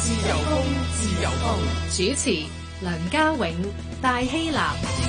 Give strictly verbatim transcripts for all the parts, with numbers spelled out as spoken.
自由風，自由風。主持梁家永、戴希立。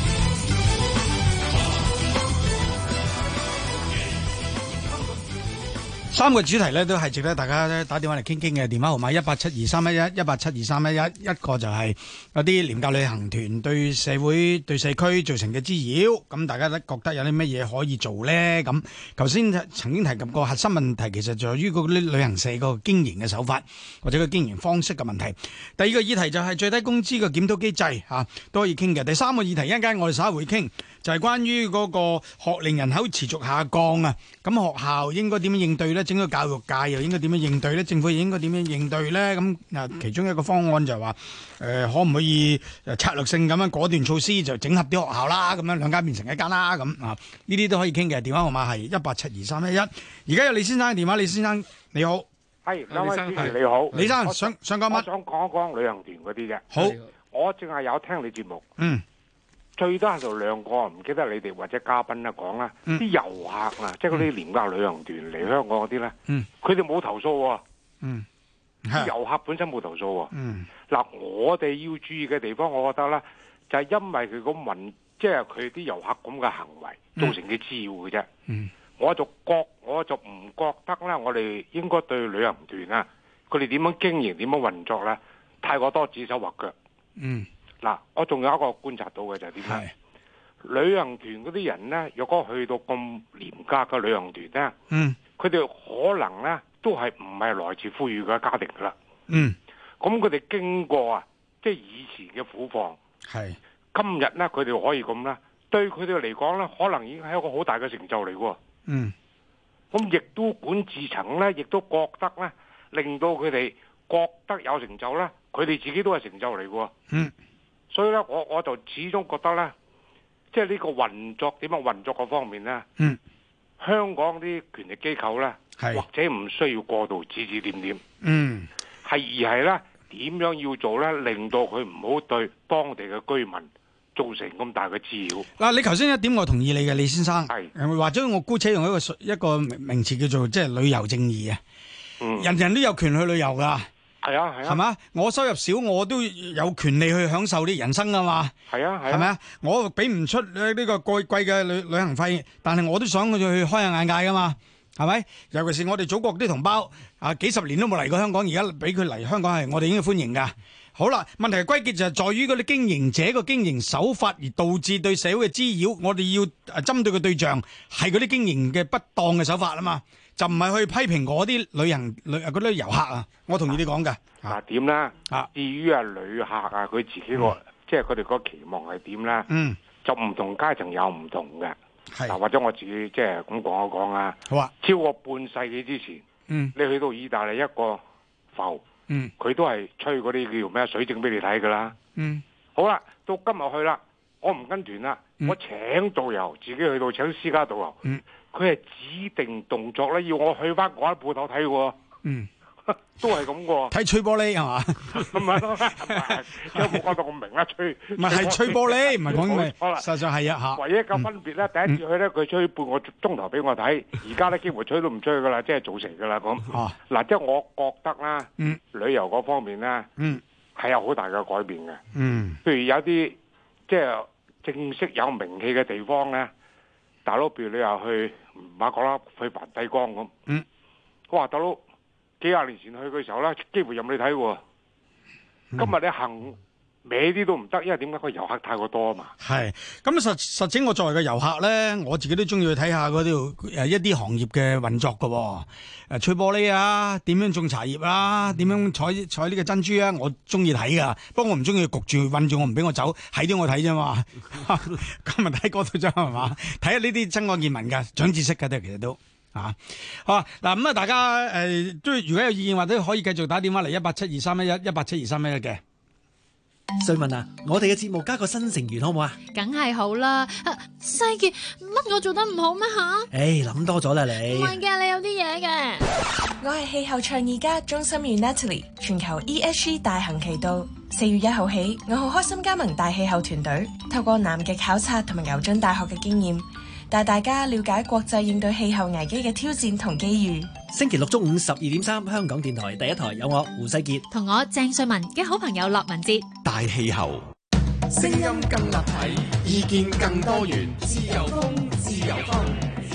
三個主題咧都係值得大家咧打電話嚟傾傾嘅。電話號碼一八七二三一一一八七二三一一。一個就係有啲廉價旅行團對社會對社區造成嘅滋擾，咁大家都覺得有啲乜嘢可以做咧？咁頭先曾經提及過核心問題，其實在於嗰啲旅行社個經營嘅手法或者個經營方式嘅問題。第二個議題就係最低工資嘅檢討機制嚇，都可以傾嘅。第三個議題一陣間我哋稍後會傾，就係關於嗰個學齡人口持續下降啊，咁學校應該點樣應對咧？整個教育界又應該點樣應對咧？政府又應該點樣應對咧？咁啊，其中一個方案就係話，誒、呃，可唔可以誒策略性咁樣果斷措施就整合啲學校啦，咁樣兩間變成一間啦，咁啊，呢啲都可以傾嘅。電話號碼係一八七二三一一。而家有李先生嘅電話，李先生你好， 係兩位主持你好， 李生想想講乜？ 我想講一講旅行團嗰啲嘅。 好， 我淨係有聽你節目， 嗯。 最多係就兩個，唔記得你哋或者嘉賓啦講啦，啲、嗯、遊客啊，即係嗰啲廉價旅行團嚟香港嗰啲咧，佢哋冇投訴喎，嗯，啲遊客本身冇投訴喎，嗯，嗱，我哋要注意嘅地方，我覺得咧，就係、是、因為佢個民，即係佢啲遊客咁嘅行為造成嘅滋擾嘅啫，嗯，我就覺我就唔覺得咧，我哋應該對旅行團啊，佢哋點樣經營、點樣運作咧，太過多指手畫腳，嗯。嗱，我仲有一個觀察到嘅就係點咧？旅行團嗰啲人咧，若果去到咁廉價嘅旅行團咧，嗯，佢哋可能咧都係唔係來自富裕嘅家庭噶啦，嗯，咁佢哋經過啊，即係以前嘅苦況，係今日咧，佢哋可以咁啦，對佢哋嚟講咧，可能已經係一個好大嘅成就嚟喎，嗯，咁亦都管治層咧，亦都覺得咧，令到佢哋覺得有成就咧，佢哋自己都係成就嚟喎，嗯。所以咧，我我就始終覺得咧，即係呢個運作點樣運作嗰方面咧，嗯，香港啲權力機構咧，或者唔需要過度指指點點，嗯，係而係咧點樣要做咧，令到佢唔好對當地嘅居民造成咁大嘅滋擾。嗱，你頭先一點我同意你嘅，李先生，係或者我姑且用一個一個名詞叫做即係旅遊正義啊，嗯，人人都有權去旅遊㗎。係啊係啊，係嘛？我收入少，我都有權利去享受啲人生噶嘛。係啊係，係咪啊？我俾唔出呢個貴貴嘅旅旅行費，但係我都想去去開下眼界噶嘛，係咪？尤其是我哋祖國啲同胞啊，幾十年都冇嚟過香港，而家俾佢嚟香港係我哋應該歡迎噶。好啦，問題歸結就係在於嗰啲經營者個經營手法而導致對社會嘅滋擾，我哋要針對嘅對象係嗰啲經營嘅不當嘅手法啊嘛。就唔係去批評嗰啲旅行旅嗰啲遊客啊，我同意你講嘅。嗱點咧？啊，至於啊旅客啊，佢自己個、嗯、即係佢哋個期望係點咧？嗯，就唔同階層有唔同嘅。係嗱，或者我自己即係咁講一講啊。好啊。超過半世紀之前，嗯，你去到意大利一個埠，嗯，佢都係吹嗰啲叫咩水晶俾你睇㗎啦。嗯。好啦，到今日去啦，我唔跟團啦、嗯，我請導遊，自己去到請私家導遊。嗯。佢係指定動作咧，要我去翻嗰一鋪頭睇喎。嗯，都係咁喎。睇吹玻璃係嘛？唔係咯，有冇講到咁明啦？吹唔係係吹玻璃，唔係講咩？好啦，實際係啊嚇。唯一嘅分別咧、嗯，第一次去咧，佢吹半個鐘頭俾我睇，而家咧幾乎吹都唔吹噶啦，即係造成噶啦咁。哦，嗱，即係我覺得啦，嗯，旅遊嗰方面咧，嗯，係有好大嘅改變嘅。嗯，譬如有啲即係正式有名氣嘅地方咧。大佬，譬如你又去馬國啦，去梵蒂岡咁。嗯，哇，大佬幾廿年前去嘅時候咧，幾乎任你睇喎。今日你行歪啲都唔得，因為點解個遊客太過多啊嘛。係，咁實實情我作為個遊客咧，我自己都中意去睇下嗰啲誒一啲行業嘅運作㗎喎。誒吹玻璃啊，點樣種茶葉啊，點樣採採呢個珍珠啊，我中意睇噶。不過我唔中意焗住韞住我，唔俾我走，係啲我睇啫嘛。今日睇嗰度啫係嘛，睇下呢啲真愛見聞噶，長知識噶都其實都啊。好啊，嗱咁啊，大家誒都、呃、如果有意見或者可以繼續打電話嚟一八七二三一一一八七二三一一嘅。 瑞文啊，我哋嘅節目加個新成員好唔好啊？ 梗係好啦。西傑，乜我做得唔好咩吓？ 誒，諗多咗啦你。唔係嘅，你有啲嘢嘅。 我係氣候倡議家鍾心如 Natalie， 全球 E S G 大行其道。四月一號起，我好開心加盟大氣候團隊，透過南極考察同埋牛津大學嘅經驗，帶大家了解國際應對氣候危機嘅挑戰同機遇。 星期六中午十二點三，香港電台第一台有我胡世傑同我鄭瑞文嘅好朋友駱文哲。 大氣候，聲音更立體，意見更多元，自由風，自由風。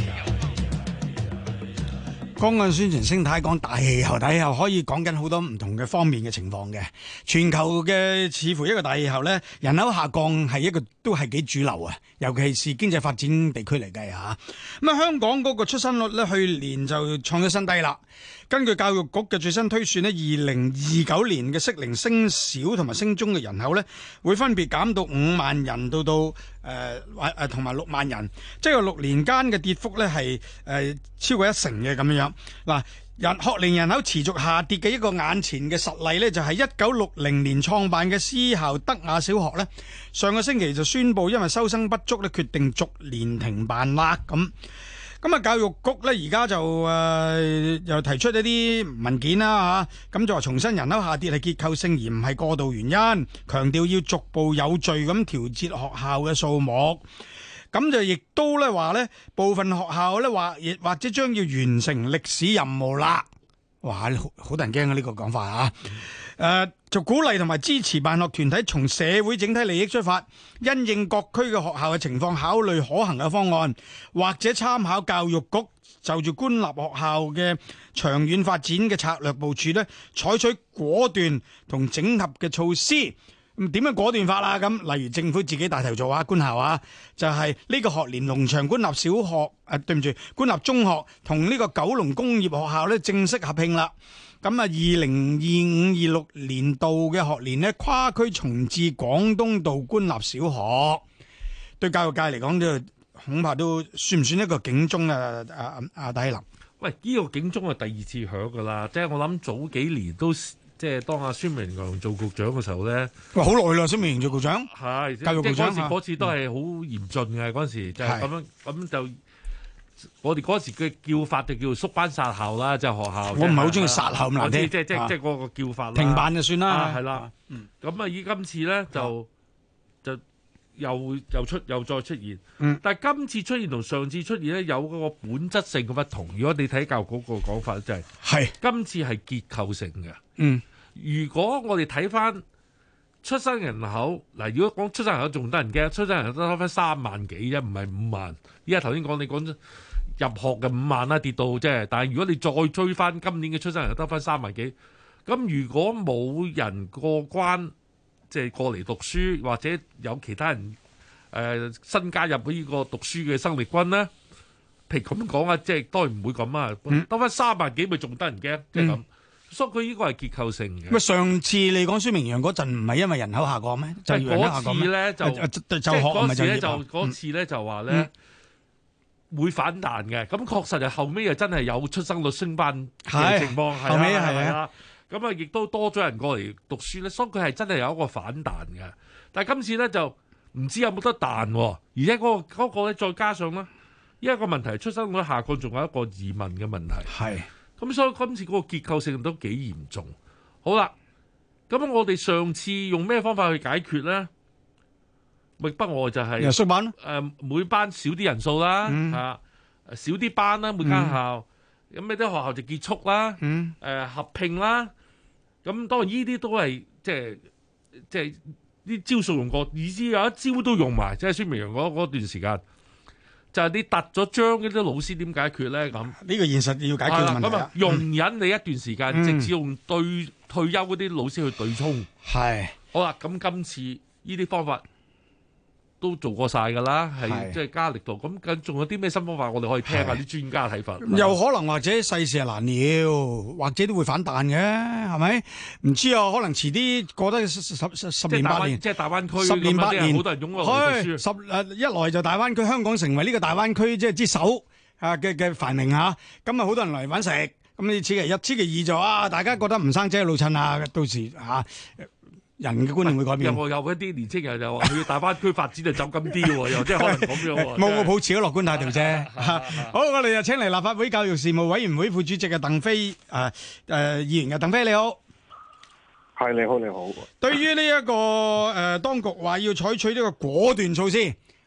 剛剛宣傳聲帶講大氣候，大氣候可以講緊好多唔同嘅方面嘅情況嘅。全球嘅似乎一個大氣候咧，人口下降係一個都係幾主流啊，尤其是經濟發展地區嚟計吓。咁啊，香港嗰個出生率咧，去年就創咗新低啦。根據教育局嘅最新推算咧，二零二九年嘅適齡升小同埋升中嘅人口咧，會分別減到五萬人到到誒誒同埋六萬人，即係六年間嘅跌幅咧係誒超過一成嘅咁樣。嗱，人學齡人口持續下跌嘅一個眼前嘅實例咧，就係一九六零年創辦嘅私校德雅小學咧，上個星期就宣布因為收生不足咧，決定逐年停辦啦咁。咁啊，教育局咧而家就誒、呃、又提出一啲文件啦嚇，咁就話重申人口下跌係結構性而唔係過渡原因，強調要逐步有序咁調節學校嘅數目。咁就亦都咧話咧，部分學校咧話亦或者將要完成歷史任務啦。哇，好好得人驚啊！呢個講法啊，誒、呃、就鼓勵同埋支持辦學團體從社會整體利益出發，因應各區嘅學校嘅情況，考慮可行嘅方案，或者參考教育局就住官立學校嘅長遠發展嘅策略部署咧，採取果斷同整合嘅措施。咁點樣果斷法啦？咁例如政府自己帶頭做啊，官校啊，就係、是、呢個學年龍翔官立小學，誒、啊、對唔住，官立中學同呢個九龍工業學校咧正式合併啦。咁啊，二零二五二六年度嘅學年呢，跨區重置廣東道官立小學，對教育界嚟講都恐怕都算唔算一個警鐘啊？阿阿戴希林， 喂，呢、這個警鐘係第二次響噶啦，即係我諗早幾年都。即係當阿孫明揚做局長嘅時候咧， 哇，好耐啦！孫明揚做局長， 係教育局長， 即係嗰時嗰次都係好嚴峻嘅。嗰、嗯、時就係咁樣，咁就我哋嗰時嘅叫法就叫縮班殺校啦，即、就、係、是、學校。我唔係好中意殺校咁難聽，即係即係即係嗰個叫法啦。停辦就算啦，係啦。咁啊，以今次咧就就又又出又再出現，嗯、但係今次出現同上次出現咧有嗰個本質性嘅不同。如果你睇教育局個講法，就係、是、係今次係結構性嘅。嗯。如果我哋睇翻出生人口嗱，如果講出生人口仲得人驚，出生人口得翻三萬幾啫，唔係五萬。依家頭先講你講入學嘅五萬啦，跌到即係，但係如果你再追翻今年嘅出生人口得翻三萬幾，咁如果冇人過關，即係過嚟讀書，或者有其他人誒、呃、新加入呢個讀書嘅生力軍咧，譬如咁講啊，即係當然唔會咁啊，得翻三萬幾咪仲得人驚，即係咁。所以佢呢個係結構性嘅。上次你講孫明揚嗰陣唔係因為人口下降咩？就嗰次咧就即係嗰次咧就嗰次咧就話咧會反彈嘅。咁確實係後尾又真係有出生率升班嘅情況，後尾係啦。咁啊亦都多咗人過嚟讀書咧，所以佢係真係有一個反彈嘅。但係今次咧就唔知有冇得彈，而且嗰個嗰個咧再加上咧，依一個問題出生率下降，仲有一個移民嘅問題。係。咁所以今次嗰個結構性都幾嚴重。好啦，咁我哋上次用咩方法去解決咧？咪不外就係縮班咯。誒，每班少啲人數啦，嗯、啊，少啲班啦，每間校。咁呢啲學校就結束啦。嗯。誒、呃，合併啦。咁當然呢啲都係即係即係啲招數用過，以至有一招都用埋，即係孫明揚嗰嗰段時間。就係你突咗章嗰啲老師點解決咧？咁呢個現實要解決嘅問題。咁啊，容忍你一段時間，嗯、直至用對退休嗰啲老師去對沖。係。好啦，咁今次呢啲方法都做過晒㗎啦，係即係加力度。咁咁仲有啲咩新方法？我哋可以聽下啲專家睇法。有可能或者世事係難料，或者都會反彈嘅，係咪？唔知啊，可能遲啲過得十十十年八年，即係大灣區十年八年，好多人湧過嚟讀書。十誒一來就大灣區，香港成為呢個大灣區即係之首啊嘅嘅繁榮嚇。咁啊，好多人嚟揾食。咁你此其一，此其二就啊，大家覺得唔生仔老襯啊，到時嚇。人嘅觀念會改變。有有一啲年青人就話去大灣區發展就走咁啲喎，又即係可能咁樣喎。冇，我抱持咗樂觀態度啫。好，我哋就請嚟立法會教育事務委員會副主席嘅鄧飛誒誒議員嘅鄧飛，你好。係，你好，你好。對於呢一個誒當局話要採取呢個果斷措施，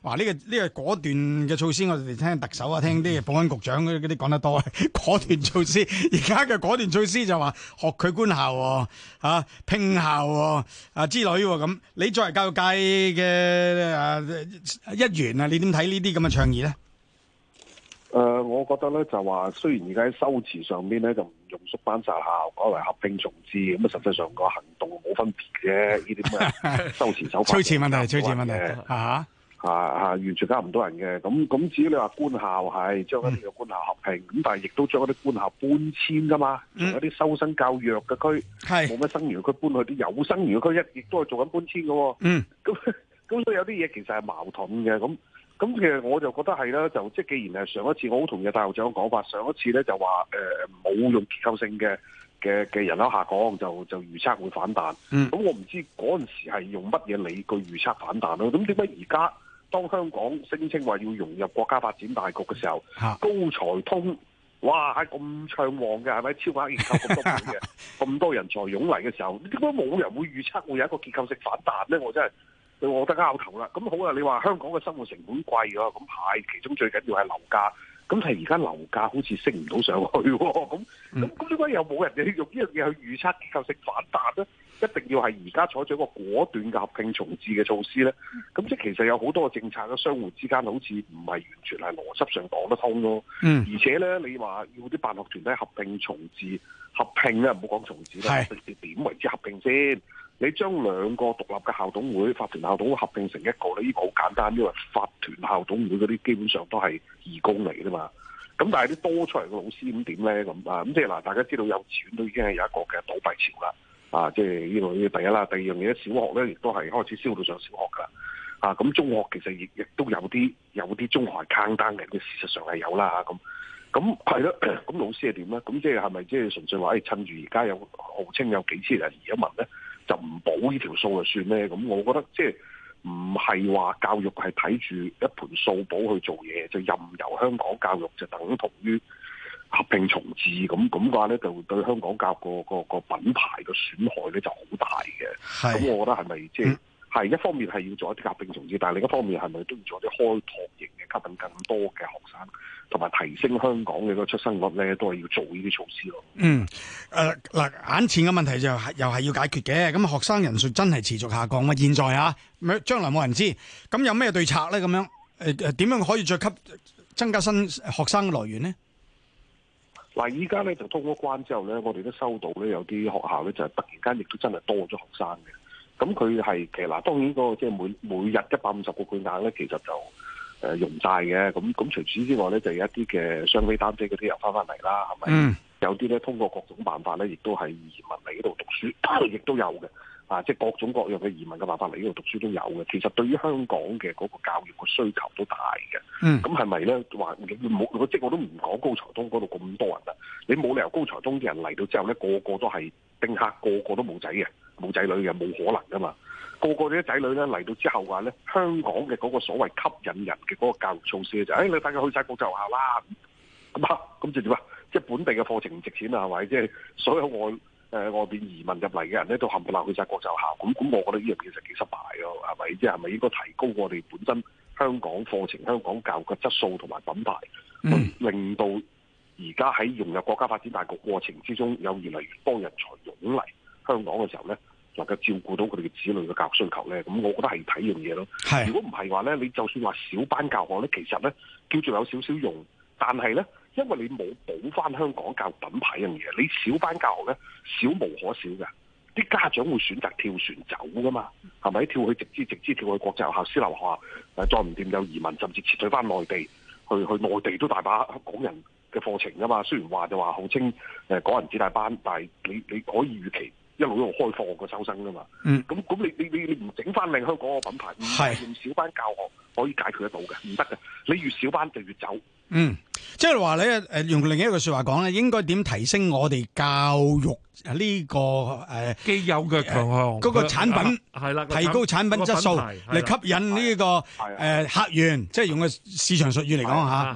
哇！呢、這個呢、這個果斷嘅措施，我哋聽特首啊，聽啲保安局長嗰啲講得多，果斷措施。而家嘅果斷措施就話學佢官校啊，啊拼校啊，啊之類咁。你作為教育界嘅啊一員啊，你點睇呢啲咁嘅倡議咧？ 誒、呃，我覺得咧就話，雖然而家喺修辭上邊咧就唔用縮班殺校，改為合併重置，咁啊實際上個行動冇分別嘅，呢啲咁嘅修辭手法。 措辭問題，措辭問題啊啊啊！完全加唔到人嘅。咁咁至於你話官校係將一啲嘅官校合併，咁、嗯、但係亦都將一啲官校搬遷噶嘛，從、嗯、一啲收生較弱嘅區，冇乜生源嘅區搬去啲有生源嘅區，一亦都係做緊搬遷嘅。嗯，咁咁所以有啲嘢其實係矛盾嘅。咁咁其實我就覺得係啦，就即係既然係上一次，我好同意大校長嘅講法，上一次咧就話誒冇用結構性嘅嘅嘅人口下降，就就預測會反彈。咁、嗯、我唔知嗰陣時係用乜嘢理據預測反彈咯？咁點解而家當香港聲稱話要融入國家發展大局嘅時候，啊、高才通哇係咁暢旺嘅，係咪超額認購咁多倍嘅，咁多人才湧嚟嘅時候，點解冇人會預測會有一個結構性反彈咧？我真係。我覺得拗頭啦，咁好啊！你話香港嘅生活成本貴啊，咁係其中最緊要係樓價，咁係而家樓價好似升唔到上去喎，咁咁咁點解又冇人哋用呢樣嘢去預測結構性反彈咧？一定要係而家採取一個果斷嘅合併重置嘅措施咧？咁即係其實有好多嘅政策嘅相互之間好似唔係完全係邏輯上講得通咯。嗯，而且咧，你話要啲辦學團體合併重置，合併咧唔好講重置啦，你點為之合併先？你將兩個獨立嘅校董會、法團校董會合併成一個咧，呢個好簡單，因為法團校董會嗰啲基本上都係義工嚟嘅嘛。咁但係啲多出嚟嘅老師咁點咧？咁啊咁即係嗱，大家知道幼稚園都已經係有一個嘅倒閉潮啦。啊，即係呢個呢第一啦，第二樣嘢小學咧亦都係開始燒到上小學㗎。啊，咁中學其實亦亦都有啲有啲中學係坑單嘅，事實上係有啦。咁咁係咯，咁老師係點咧？咁即係係咪即係純粹話誒趁住而家有號稱有幾千人移咗民咧？就唔補呢條數就算咧，咁我覺得即係唔係話教育係睇住一盤數簿去做嘢，就任由香港教育就等同於合併重置咁咁嘅話咧，就對香港教育個個個品牌嘅損害咧就好大嘅。咁我覺得係咪即係係一方面係要做一啲合併重置，但係另一方面係咪都要做一啲開拓型嘅吸引更多嘅學生，同埋提升香港嘅個出生率咧，都係要做呢啲措施咯。嗯，誒、呃、嗱，眼前嘅問題就係又係要解決嘅。咁學生人數真係持續下降嘛？現在啊，將來冇人知。咁有咩對策咧？咁樣誒誒，點樣可以再吸增加新學生嘅來源呢？嗱，依家咧就通咗關之後咧，我哋都收到咧有啲學校咧就係突然間亦都真係多咗學生嘅。咁佢係其實嗱，當然個即係每每日一百五十個配額咧，其實就誒用晒嘅。咁咁除此之外咧，就有一啲嘅雙非單非嗰啲又翻翻嚟啦，係咪？嗯。有啲咧通過各種辦法咧，亦都係移民嚟呢度讀書，亦都有嘅。啊，即係各種各樣嘅移民嘅辦法嚟呢度讀書都有嘅。其實對於香港嘅嗰個教育嘅需求都大嘅。嗯。咁係咪咧話冇？即係我都唔講高才通嗰度咁多人啦。你冇理由高才通啲人嚟到之後咧，個個都係丁克，個個都冇仔嘅。冇仔女嘅，冇可能噶嘛！個個啲仔女咧嚟到之後話咧，香港嘅嗰個所謂吸引人嘅嗰個教育措施就係、是，誒、哎、你帶佢去晒國際學校啦，咁啊，咁就點啊？即係本地嘅課程唔值錢啊，係咪？即係所有外誒、呃、外邊移民入嚟嘅人咧，都冚唪唥去晒國際學校，咁咁，我覺得呢樣嘢就幾失敗咯，係咪？即係係咪應該提高我哋本身香港課程、香港教育嘅質素同埋品牌，嗯、令到而家喺融入國家發展大局過程之中，有越嚟越多人才湧嚟香港嘅時候咧，能夠照顧到佢哋嘅子女嘅教育需求咧，咁我覺得係睇樣嘢咯。如果唔係話咧，你就算話小班教學咧，其實咧叫做有少少用，但係咧，因為你冇補翻香港教育品牌一樣嘢，你小班教學咧少無可少嘅，啲家長會選擇跳船走噶嘛，係咪？跳去直資直資跳去國際學校、私立學校，誒再唔掂有移民，甚至撤退翻內地，去去內地都大把港人嘅課程噶嘛。雖然話就話號稱誒港人子弟班，但係你你可以預期。一路一路開放個收生噶嘛，咁咁、嗯、你你你你唔整翻靚香港個品牌，唔係用小班教學可以解決得到嘅，唔得嘅。你越小班就越走。嗯，即係話你誒用另一個說話講咧，應該點提升我哋教育呢、這個誒既、呃、有嘅強項嗰個產品係啦，提高產品質素嚟吸引呢、這個誒、呃、客源，即係用個市場術語嚟講吓。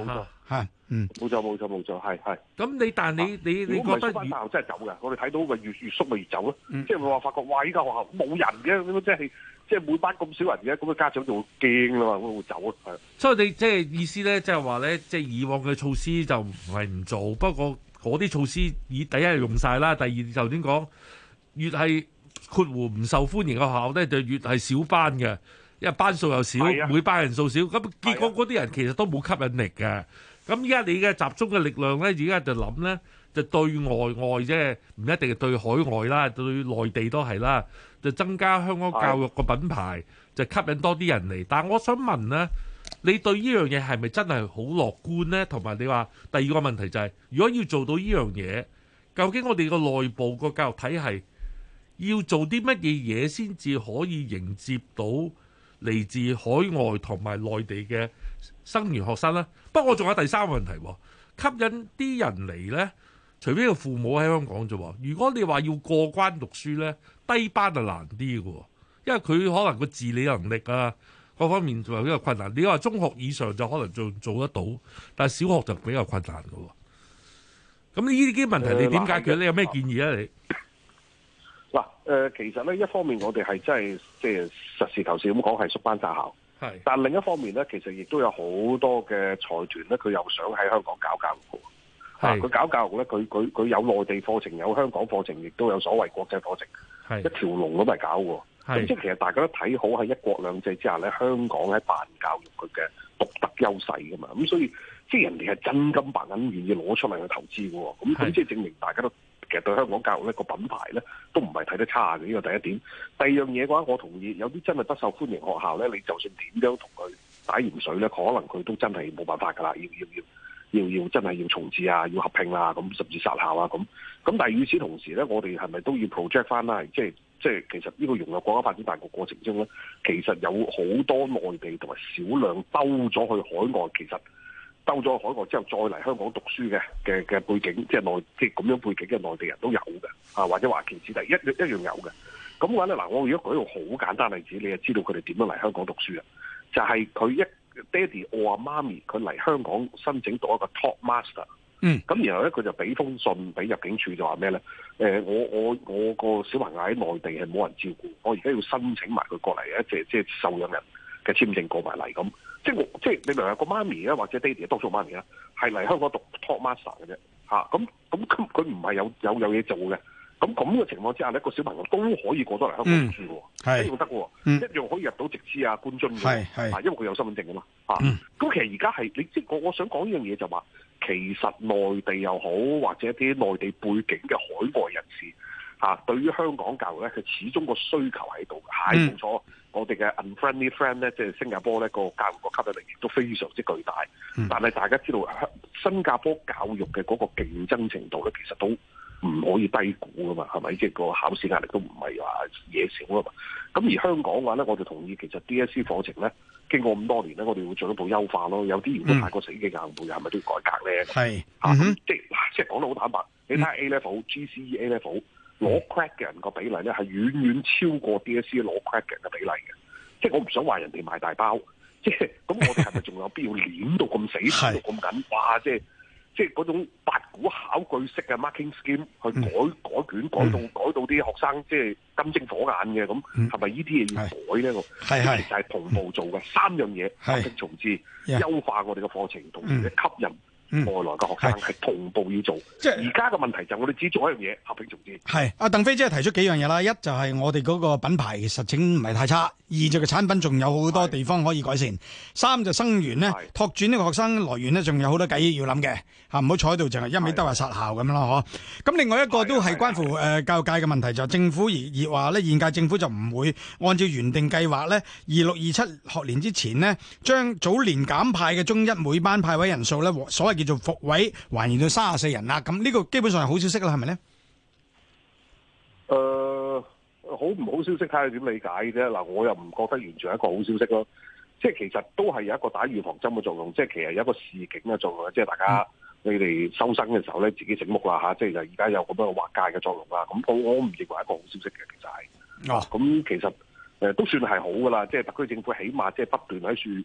係，嗯， 冇錯冇錯冇錯，係係。 咁你但你你你覺得翻校真係走嘅，我哋睇到咪越越縮咪越走咯。即係話發覺哇！依家學校冇人嘅，咁即係即係每班咁少人嘅，咁嘅家長就會驚啦嘛，咁會走咯。係。所以你即係意思咧，即係話咧，即係以往嘅措施就唔係唔做，不過嗰啲措施以第一係用晒啦，第二頭先講越係括弧唔受歡迎嘅學校咧，就越係少班嘅。因為班數又少，啊、每班人數少，咁結果嗰啲人其實都冇吸引力嘅。咁依家你嘅集中嘅力量咧，而家就諗咧，就對外外啫，唔一定係對海外啦，對內地都係啦，就增加香港教育個品牌，就吸引多啲人嚟。但係我想問咧，你對呢樣嘢係咪真係好樂觀咧？同埋你話第二個問題就係、是，如果要做到呢樣嘢，究竟我哋個內部個教育體系要做啲乜嘢嘢先至可以迎接到嚟自海外同埋內地嘅生源學生啦。不過我仲有第三個問題，吸引啲人嚟呢，除非個父母喺香港啫。如果你話要過關讀書呢，低班就難啲嘅，因為佢可能個自理能力啊各方面仲有比較困難。你話中學以上就可能做做得到，但係小學就比較困難嘅。咁呢啲問題你點解決？你有咩建議啊？你？ 嗱，誒，其實咧，一方面我哋係真係即係實事求是咁講，係縮班殺校。係。但另一方面咧，其實亦都有好多嘅財團咧，佢又想喺香港搞教育。係。佢搞教育咧，佢佢佢有內地課程，有香港課程，亦都有所謂國際課程。係。一條龍咁嚟搞喎。係。咁即係其實大家都睇好喺一國兩制之下咧，香港喺辦教育佢嘅獨特優勢噶嘛。咁所以即係人哋係真金白銀願意攞出嚟去投資嘅喎。咁咁即係證明大家都。其實對香港教育呢個品牌咧都唔係睇得差嘅，呢個第一點。第二樣嘢嘅話，我同意有啲真係不受歡迎學校咧，你就算點樣同佢打鹽水咧，可能佢都真係冇辦法㗎啦，要要要要要真係要重置啊，要合併啊，咁甚至殺校啊咁。咁但係與此同時咧，我哋係咪都要 project 翻啦？即係即係其實呢個融入國家發展大局過程中咧，其實有好多內地同埋少量兜咗去海外，其實。兜咗海外之後再嚟香港讀書嘅嘅嘅背景，即係內即係咁樣背景嘅內地人都有嘅，啊或者華僑子弟一一樣有嘅。咁嘅話咧，嗱我如果舉一個好簡單例子，你就知道佢哋點樣嚟香港讀書啊？就係、是、佢一爹哋我阿媽咪佢嚟香港申請讀一個 top master， 嗯，咁然後咧佢就俾封信俾入境處就話咩咧？誒、呃、我我我個小朋友喺內地係冇人照顧，我而家要申請埋佢過嚟一隻即係受養人嘅簽證過埋嚟咁。即係我，即係你明唔明個媽咪咧，或者爹哋多數媽咪咧，係嚟香港讀 top master 嘅啫，嚇咁咁佢佢唔係有有有嘢做嘅，咁咁嘅情況之下咧，個小朋友都可以過到嚟香港讀書喎，嗯、一樣得喎，嗯、一樣可以入到直資啊、官津嘅，啊，因為佢有身份證啊嘛，嚇、嗯，咁其實而家係你即係我我想講呢樣嘢就話，其實內地又好，或者啲內地背景嘅海外人士嚇、啊，對於香港教育咧，佢始終個需求喺度，係冇錯。我哋嘅 unfriendly friend 咧，即係新加坡咧，個教育個吸引力亦都非常之巨大。嗯、但係大家知道，新加坡教育嘅嗰個競爭程度咧，其實都唔可以低估噶嘛，係咪？即係個考試壓力都唔係話嘢少啊嘛。咁而香港嘅話咧，我就同意，其實 D S E 課程咧，經過咁多年咧，我哋會進一步優化咯。有啲如果太過死嘅硬背，係咪都要改革咧？係嚇，即係即係講得好坦白，你睇下 A level、G C E、A level。攞 credit 嘅人個比例咧係遠遠超過 D S E 攞 credit 嘅人嘅比例嘅，即係我唔想話人哋賣大包，即係咁我哋係咪仲有必要攣到咁死，攣到咁緊？哇！即係即係嗰種八股考據式嘅 marking scheme 去改、嗯、改卷，改到、嗯、改到啲學生即係金睛火眼嘅，咁係咪呢啲嘢要改咧？係係就係同步做嘅三樣嘢，合併重置、優化我哋嘅課程，同時咧吸引。嗯、外來嘅學生係同步要做，即係而家嘅問題就係我哋只做一樣嘢，合併重置。係阿鄧飛姐提出幾樣嘢啦，一就係我哋嗰個品牌實情唔係太差，二就嘅產品仲有好多地方可以改善，三就生源呢，拓展呢個學生來源呢，仲有好多計要諗嘅嚇，唔好坐喺度淨係一味得話殺校咁樣咯嗬。咁另外一個都係關乎誒教育界嘅問題，就係政府而而話呢，現屆政府就唔會按照原定計劃呢，二六二七學年之前呢，將早年減派嘅中一每班派位人數呢，所謂叫做復位還原到三十四人啦，咁呢個基本上係好消息啦，係咪咧？誒、呃，好唔好消息睇下點理解啫。嗱，我又唔覺得完全係一個好消息咯。即係其實都係有一個打預防針嘅作用，即係其實有一個示警嘅作用，即係大家、嗯、你哋收生嘅時候咧，自己醒目啦吓，即係就而家有咁樣嘅劃界嘅作用啦。咁我我唔認為係一個好消息嘅，其實係。哦。咁其實誒、呃、都算係好噶啦，即係特區政府起碼即係不斷喺處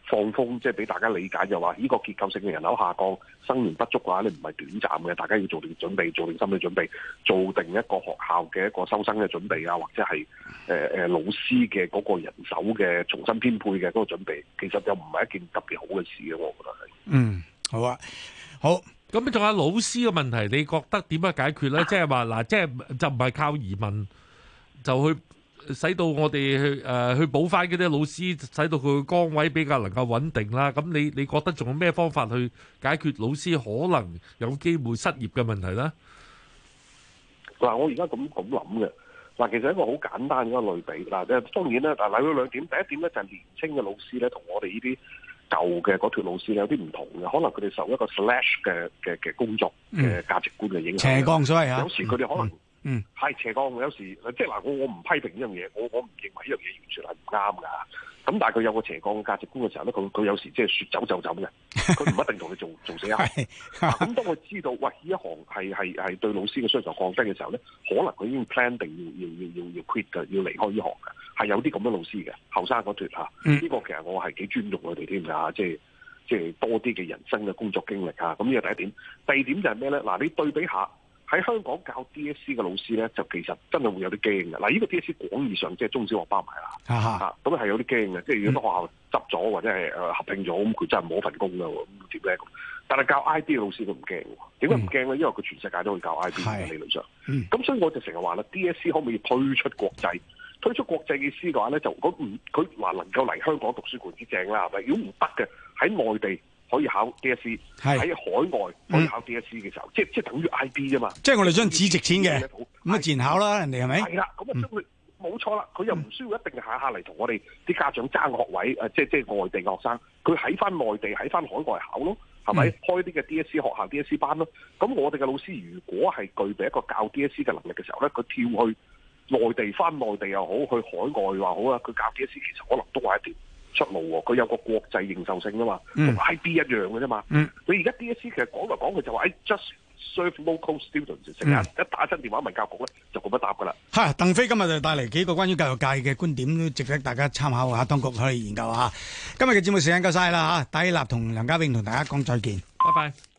放風，即係俾大家理解就話，呢個結構性嘅人口下降、生源不足嘅話，你唔係短暫嘅，大家要做定準備，做定心理準備，做定一個學校嘅一個收生嘅準備啊，或者係誒誒老師嘅嗰個人手嘅重新編配嘅嗰個準備，其實又唔係一件特別好嘅事嘅，我覺得係。 嗯，好啊，好。 咁仲有老師嘅問題，你覺得點樣解決咧？即係話嗱，即係就唔係靠移民就去使到我哋去誒、呃、去補翻嗰啲老師，使到佢嘅崗位比較能夠穩定啦。咁你你覺得仲有咩方法去解決老師可能有機會失業嘅問題咧？ 嗱，我而家咁咁諗嘅嗱，其實一個好簡單嘅一個類比嗱，即係當然咧，嗱，嚟到兩點，第一點咧就係年青嘅老師咧，同我哋呢啲舊嘅嗰條老師有啲唔同嘅，可能佢哋受一個 slash 嘅嘅嘅工作嘅價值觀嘅影響， 斜槓所謂啊， 有時佢哋可能嗯係斜槓，有時即係嗱，我我唔批評呢樣嘢，我我唔認為呢樣嘢完全係唔啱㗎。咁但係佢有個斜槓嘅價值觀嘅時候咧，佢佢有時即係説走就走嘅，佢唔一定同你做做死一行。咁當佢知道喂呢一行係係係對老師嘅需求降低嘅時候咧，可能佢已經 plan 定要要要要要 quit 嘅，要離開呢行嘅，係有啲咁嘅老師嘅，後生嗰脱嚇。呢、嗯、個其實我係幾尊重佢哋添㗎，即係即係多啲嘅人生嘅工作經歷嚇。咁呢個第一點，第二點就係咩咧？嗱，你對比下。喺香港教 D S C 嘅老師咧，就其實真係會有啲驚嘅。嗱，呢個 D S C 廣義上即係中小學包埋啦，嚇咁係有啲驚嘅。即係如果學校執咗或者係誒合併咗，咁佢真係冇一份工㗎喎，咁點咧？但係教 I B 嘅老師都唔驚喎。點解唔驚咧？因為佢全世界都會教 I B 嘅理論上。咁、嗯、所以我就成日話啦 ，D S C 可唔可以推出國際？推出國際嘅意思嘅話咧，就如果唔佢話能夠嚟香港讀書固然之正啦，係咪？如果唔得嘅，喺內地可以考 D S C， 喺海外可以考 D S C 嘅時候，嗯、即係即係等於 I B 啫嘛。即係我哋將紙值錢嘅，咁啊自然考啦，人哋係咪？係啦，咁啊將佢冇錯啦，佢又唔需要一定下下嚟同我哋啲家長爭學位，誒、呃，即係即係外地嘅學生，佢喺翻內地喺翻海外考咯，係咪？嗯、開啲嘅 D S C 學校 D S C 班咯。咁我哋嘅老師如果係具備一個教 D S C 嘅能力嘅時候咧，佢跳去內地翻內地又好，去海外話好啊，佢教 D S C 其實可能都係一條出路喎，佢有個國際認受性啊嘛，同、嗯、I B 一樣嘅啫嘛。嗯、你而家 D S C 其實講嚟講去就話，誒 just serve local students，成日、嗯、一打親電話問教局咧，就咁樣答噶啦。嚇，鄧飛今日就帶嚟幾個關於教育界嘅觀點，都值得大家參考下，當局可以研究下。今日嘅節目時間夠晒啦嚇，戴立同梁家永同大家講再見， 拜拜。